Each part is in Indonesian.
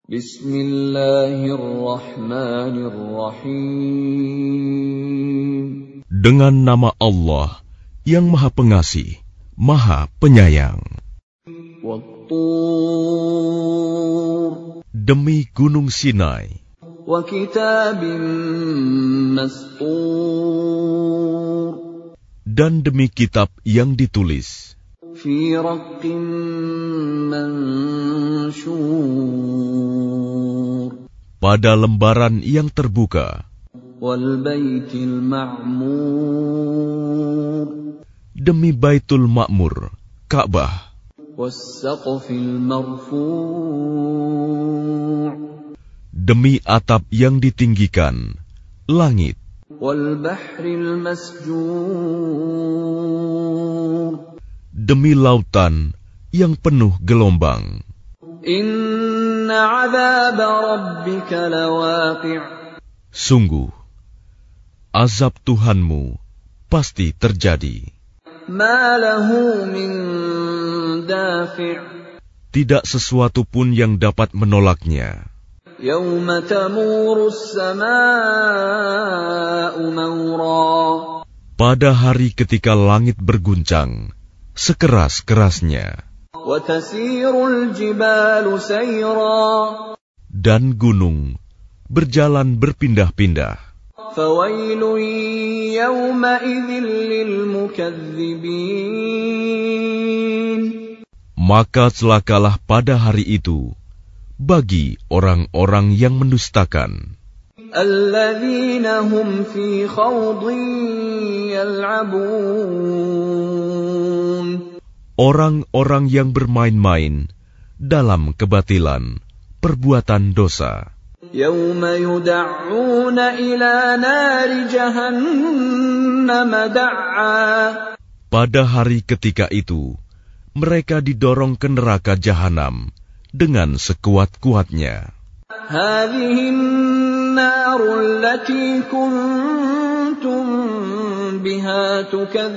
Bismillahirrahmanirrahim. Dengan nama Allah yang Maha Pengasih, Maha Penyayang. Wat-Tur. Demi Gunung Sinai. Wa kitabim mastur. Dan demi kitab yang ditulis. Fi raqqim manshur. Pada lembaran yang terbuka. Wal baitil ma'mur. Demi Baitul Ma'mur, Ka'bah. Was saqfil marfu'. Demi atap yang ditinggikan, langit. Wal bahril masjur. Demi lautan yang penuh gelombang. Inna 'adzaba rabbika lawaqi'. Sungguh, azab Tuhanmu pasti terjadi. Ma lahu min dafi'. Tidak sesuatu pun yang dapat menolaknya. Yawma tamuru as-samaa'u mawra. Pada hari ketika langit berguncang sekeras-kerasnya. Wa tasirul jibalu sayra. Dan gunung berjalan berpindah-pindah. Fawailun yawma idzin lil mukadzibin. Maka celakalah pada hari itu bagi orang-orang yang mendustakan. Alladzina hum fi khawdin yal'abun. Orang-orang yang bermain-main dalam kebatilan, perbuatan dosa. Yawma yud'auna ila nari jahannam da''a. Pada hari ketika itu, mereka didorong ke neraka jahanam dengan sekuat-kuatnya. Hadhihi an-naru allati kuntum biha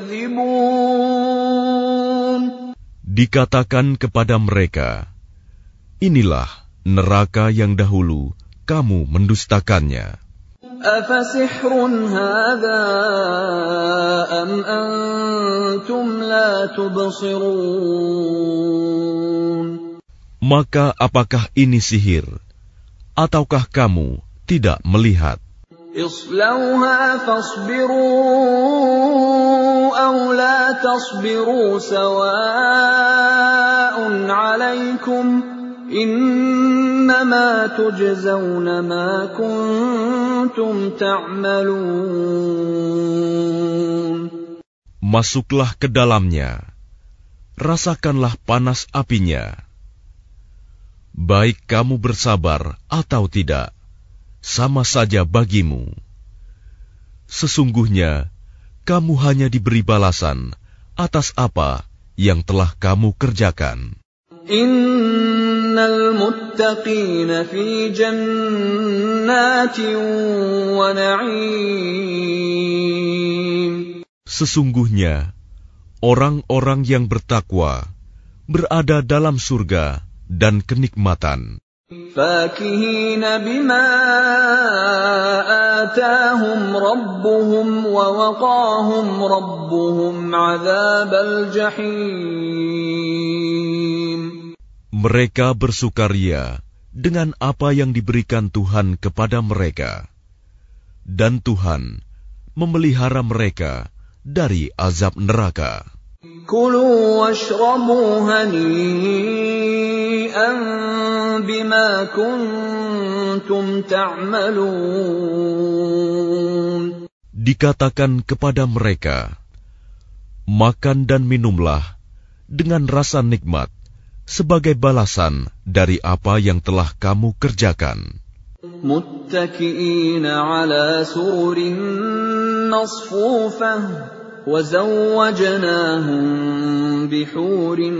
tukadzibun. Dikatakan kepada mereka, inilah neraka yang dahulu kamu mendustakannya. Afasihrun hadha am antum la tubsirun. Maka apakah ini sihir, ataukah kamu tidak melihat? Islauha fasbiru aw la tasbiru sawa'un 'alaikum. Innama tujzauna ma kuntum ta'malun. Masuklah ke dalamnya, rasakanlah panas apinya. Baik kamu bersabar atau tidak, sama saja bagimu. Sesungguhnya, kamu hanya diberi balasan atas apa yang telah kamu kerjakan. Innal muttaqina fi jannatin wa na'im. Sesungguhnya, orang-orang yang bertakwa berada dalam surga dan kenikmatan. Fakihina bima atahum rabbuhum wa waqahum rabbuhum 'adzabal jahim. Mereka bersukaria dengan apa yang diberikan Tuhan kepada mereka, dan Tuhan memelihara mereka dari azab neraka. Kulu washrabu hani'an bima kuntum ta'malun. Dikatakan kepada mereka, makan dan minumlah dengan rasa nikmat sebagai balasan dari apa yang telah kamu kerjakan. Muttaki'ina 'ala sururin masfufah wa zawwajnahum bihurin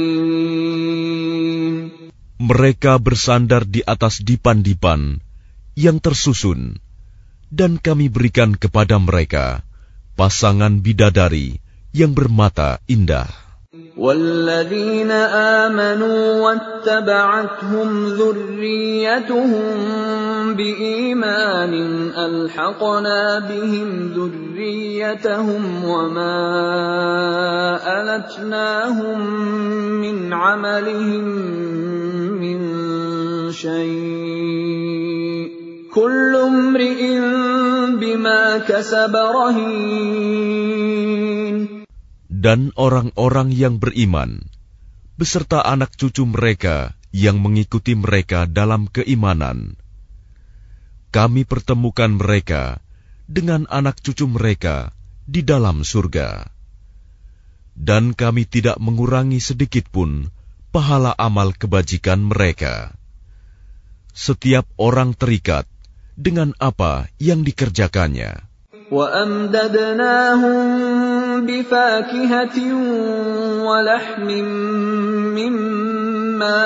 'ain. Mereka bersandar di atas dipan-dipan yang tersusun, dan kami berikan kepada mereka pasangan bidadari yang bermata indah. وَالَّذِينَ آمَنُوا وَاتَّبَعَتْهُمْ ذُرِّيَّتُهُم بِإِيمَانٍ أَلْحَقْنَا بِهِمْ ذُرِّيَّتَهُمْ وَمَا أَلَتْنَاهُم مِّنْ عَمَلِهِم مِّن شَيْءٍ ۚ كُلُّ امْرِئٍ بِمَا كَسَبَ رَهِينٌ. Dan orang-orang yang beriman, beserta anak cucu mereka yang mengikuti mereka dalam keimanan, kami pertemukan mereka dengan anak cucu mereka di dalam surga. Dan kami tidak mengurangi sedikitpun pahala amal kebajikan mereka. Setiap orang terikat dengan apa yang dikerjakannya. وَأَمْدَدْنَاهُمْ بِفَاكِهَةٍ وَلَحْمٍ مِّمَّا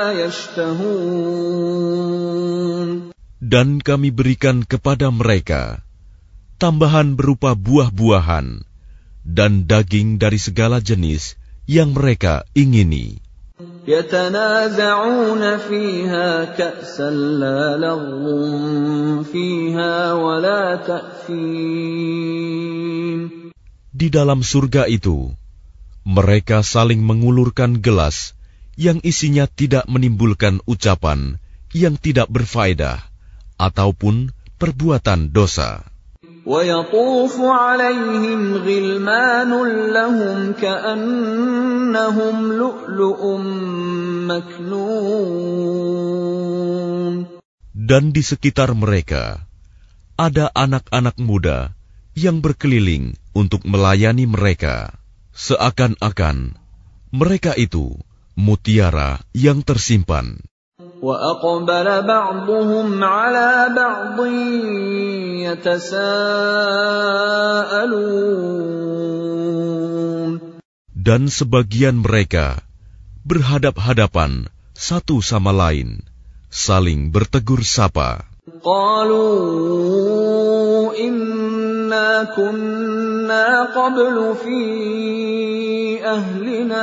يَشْتَهُونَ. Dan kami berikan kepada mereka tambahan berupa buah-buahan dan daging dari segala jenis yang mereka ingini. يَتَنَازَعُونَ فِيهَا كَأْسًا لَّا لَغْوٌ فِيهَا وَلَا تَأْثِيمٌ. Di dalam surga itu, mereka saling mengulurkan gelas yang isinya tidak menimbulkan ucapan yang tidak berfaedah ataupun perbuatan dosa. وَيَطُوفُ عَلَيْهِمْ غِلْمَانٌ لَّهُمْ كَأَنَّهُمْ لُؤْلُؤٌ مَّكْنُونٌ. Dan di sekitar mereka ada anak-anak muda yang berkeliling untuk melayani mereka, seakan-akan mereka itu mutiara yang tersimpan. وَأَقْبَلَ بَعْضُهُمْ عَلَىٰ بَعْضٍ يَتَسَاءَلُونَ. Dan sebagian mereka berhadap-hadapan satu sama lain, saling bertegur sapa. قَالُوا إِنَّا كُنَّا قَبْلُ فِي أَهْلِنَا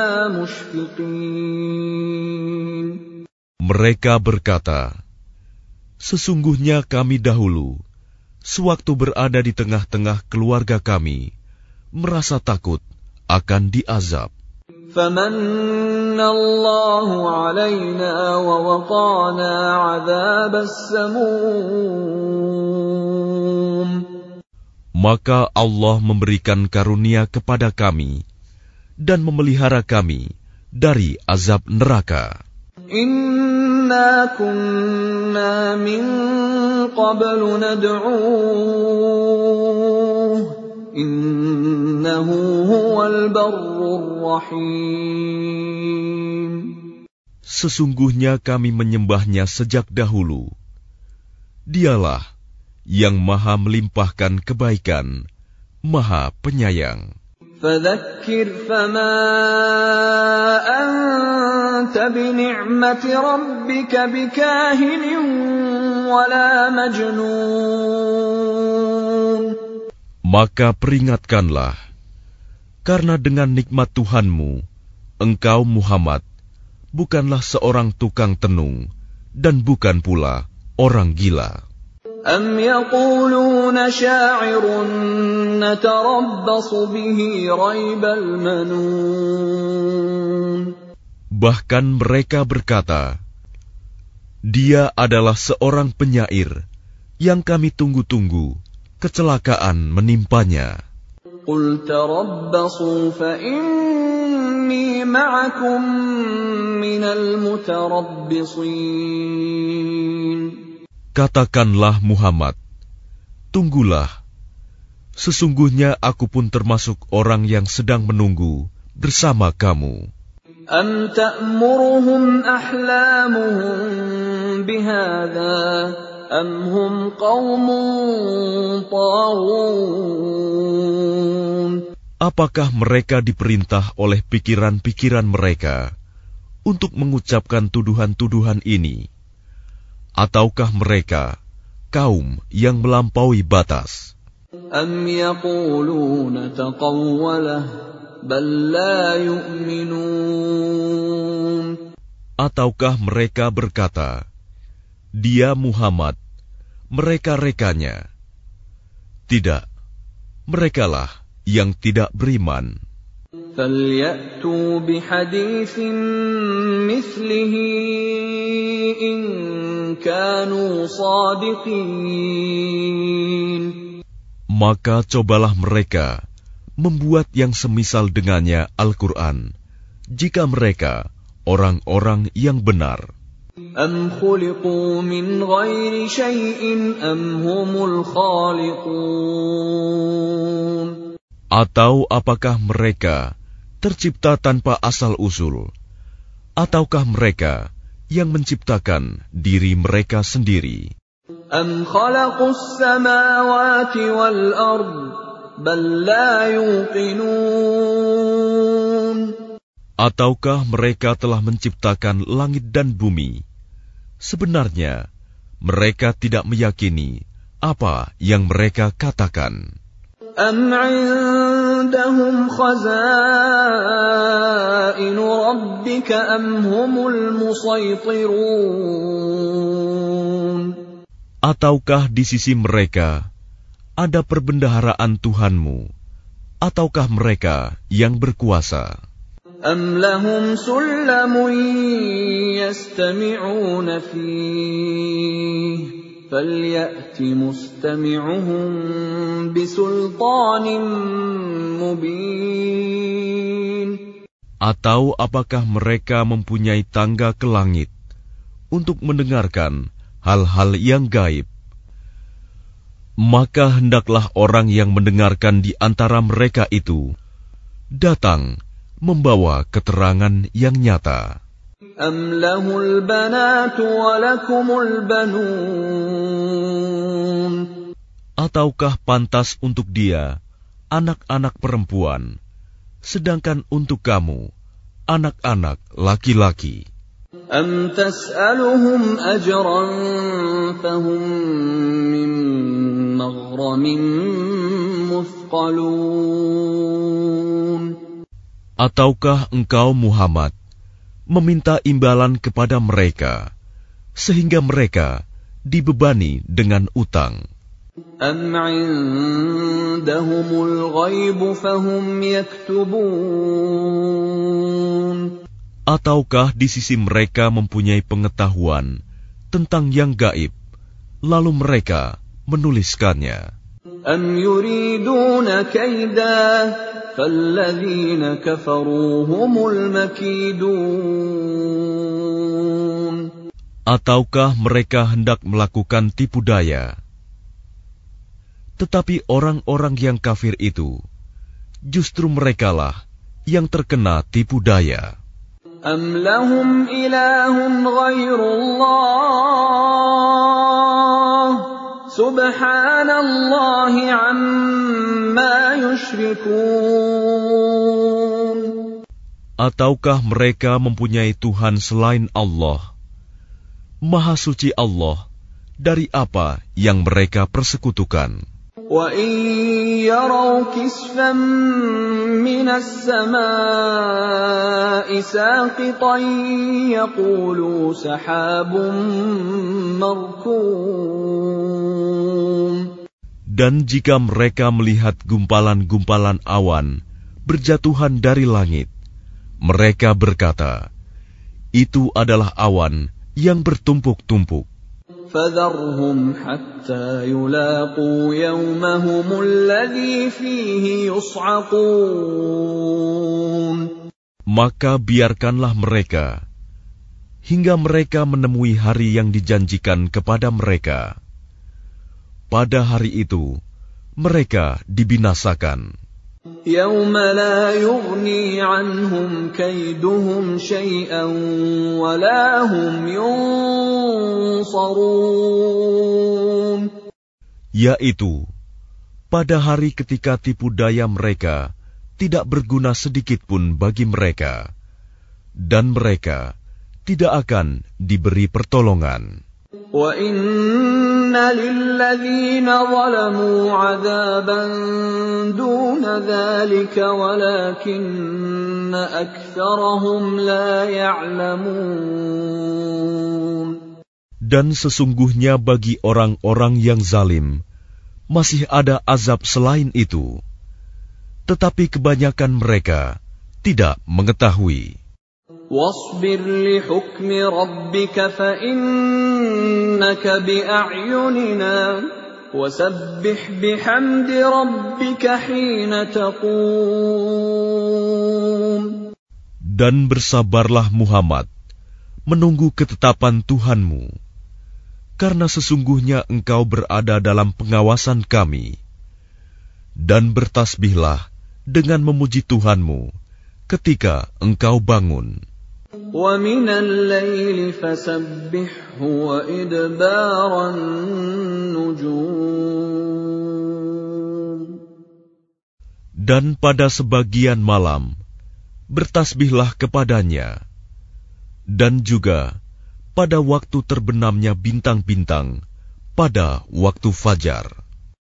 مُشْفِقِينَ. Mereka berkata, sesungguhnya kami dahulu, sewaktu berada di tengah-tengah keluarga kami, merasa takut akan diazab. فَمَنَّ اللَّهُ عَلَيْنَا وَوَقَانَا عَذَابَ السَّمُومِ. Maka Allah memberikan karunia kepada kami dan memelihara kami dari azab neraka. Inna kunna min qablu nad'uuh innahu huwal barrur rahim. Sesungguhnya kami menyembahnya sejak dahulu. Dialah yang maha melimpahkan kebaikan, maha penyayang. فَذَكِّرْ فَمَا أَنْتَ بِنِعْمَةِ رَبِّكَ بِكَاهِنٍ وَلَا مَجْنُونٍ. Maka peringatkanlah, karena dengan nikmat Tuhanmu, engkau Muhammad, bukanlah seorang tukang tenung, dan bukan pula orang gila. أَمْ يَقُولُونَ شَاعِرٌ نَتَرَبَّصُ بِهِ رَيْبَ الْمَنُونِ. Bahkan mereka berkata, dia adalah seorang penyair yang kami tunggu-tunggu kecelakaan menimpanya. قُلْ تَرَبَّصُوا فَإِنِّي مَعَكُمْ مِنَ الْمُتَرَبِّصِينَ. Katakanlah Muhammad, tunggulah, sesungguhnya aku pun termasuk orang yang sedang menunggu bersama kamu. أَمْ تَأْمُرُهُمْ أَحْلَامُهُمْ بِهَذَا أَمْ هُمْ قَوْمٌ طَاغُونَ. Apakah mereka diperintah oleh pikiran-pikiran mereka untuk mengucapkan tuduhan-tuduhan ini? Ataukah mereka kaum yang melampaui batas? أَمْ يَقُولُونَ تَقَوَّلَهُ بل لا يؤمنون. Ataukah mereka berkata, Dia Muhammad, mereka-rekanya. Tidak, merekalah yang tidak beriman. فَلْيَأْتُوا بِحَدِيثٍ مِثْلِهِ إِن كَانُوا صَادِقِينَ. Maka cobalah mereka membuat yang semisal dengannya Al-Quran, jika mereka orang-orang yang benar. أَمْ خُلِقُوا مِنْ غَيْرِ شَيْءٍ أَمْ هُمُ الْخَالِقُونَ. Atau apakah mereka tercipta tanpa asal-usul, ataukah mereka yang menciptakan diri mereka sendiri? أَمْ خَلَقُوا السَّمَاوَاتِ وَالْأَرْضَ بَل لَّا يُوقِنُونَ. Ataukah mereka telah menciptakan langit dan bumi? Sebenarnya, mereka tidak meyakini apa yang mereka katakan. أَمْ عِندَهُمْ خَزَائِنُ رَبِّكَ أَمْ هُمُ الْمُصَيْطِرُونَ. Ataukah di sisi mereka ada perbendaharaan Tuhanmu, ataukah mereka yang berkuasa? أَمْ لَهُمْ سُلَّمٌ يَسْتَمِعُونَ فِيهِ فَلْيَأْتِ مُسْتَمِعُهُم بِسُلْطَانٍ مُّبِينٍ. Atau apakah mereka mempunyai tangga ke langit untuk mendengarkan hal-hal yang gaib? Maka hendaklah orang yang mendengarkan di antara mereka itu datang membawa keterangan yang nyata. أَمْ لَهُ الْبَنَاتُ وَلَكُمُ الْبَنُونَ. Ataukah pantas untuk dia anak-anak perempuan, sedangkan untuk kamu anak-anak laki-laki? أَمْ تَسْأَلُهُمْ أَجْرًا فَهُمْ مِنْ مَغْرَمٍ مُثْقَلُونَ. Ataukah engkau Muhammad meminta imbalan kepada mereka, sehingga mereka dibebani dengan utang? أَمْ عِندَهُمُ الْغَيْبُ فَهُمْ يَكْتُبُونَ. Ataukah di sisi mereka mempunyai pengetahuan tentang yang gaib, lalu mereka menuliskannya? أَمْ يُرِيدُونَ كَيْدًا فَالَّذِينَ كَفَرُوا هُمُ الْمَكِيدُونَ. Ataukah mereka hendak melakukan tipu daya? Tetapi orang-orang yang kafir itu, justru merekalah yang terkena tipu daya. أَمْ لَهُمْ إِلَٰهٌ غَيْرُ اللَّهِ سُبْحَانَ اللَّهِ عَمَّا يُشْرِكُونَ. Ataukah mereka mempunyai Tuhan selain Allah? Maha suci Allah dari apa yang mereka persekutukan. وَإِن يَرَوْا كِسْفًا مِّنَ السَّمَاءِ سَاقِطًا يَقُولُوا سَحَابٌ مَّرْكُومٌ. Dan jika mereka melihat gumpalan-gumpalan awan berjatuhan dari langit, mereka berkata, itu adalah awan yang bertumpuk-tumpuk. فَذَرْهُمْ حَتَّى يُلَاقُوا يَوْمَهُمُ الَّذِي فِيهِ يُصْعَقُونَ. Maka biarkanlah mereka hingga mereka menemui hari yang dijanjikan kepada mereka. Pada hari itu mereka dibinasakan. يَوْمَ لَا يُغْنِي عَنْهُمْ كَيْدُهُمْ شَيْئًا وَلَا هُمْ يُنصَرُونَ. Yaitu pada hari ketika tipu daya mereka tidak berguna sedikit pun bagi mereka, dan mereka tidak akan diberi pertolongan. وَإِنَّ لِلَّذِينَ ظَلَمُوا عَذَابًا دُونَ ذَلِكَ وَلَكِنَّ أَكْثَرَهُمْ لَا يَعْلَمُونَ. Dan sesungguhnya bagi orang-orang yang zalim masih ada azab selain itu, tetapi kebanyakan mereka tidak mengetahui. وَاصْبِرْ لِحُكْمِ رَبِّكَ فَإِنَّكَ بِأَعْيُنِنَا وَسَبِّحْ بِحَمْدِ رَبِّكَ حِينَ تَقُومُ. Dan bersabarlah Muhammad menunggu ketetapan Tuhanmu, karena sesungguhnya engkau berada dalam pengawasan kami. Dan bertasbihlah dengan memuji Tuhanmu ketika engkau bangun. وَمِنَ اللَّيْلِ فَسَبِّحْهُ وَإِدْبَارَ النُّجُومِ. Dan pada sebagian malam bertasbihlah kepadanya, dan juga pada waktu terbenamnya bintang-bintang pada waktu fajar.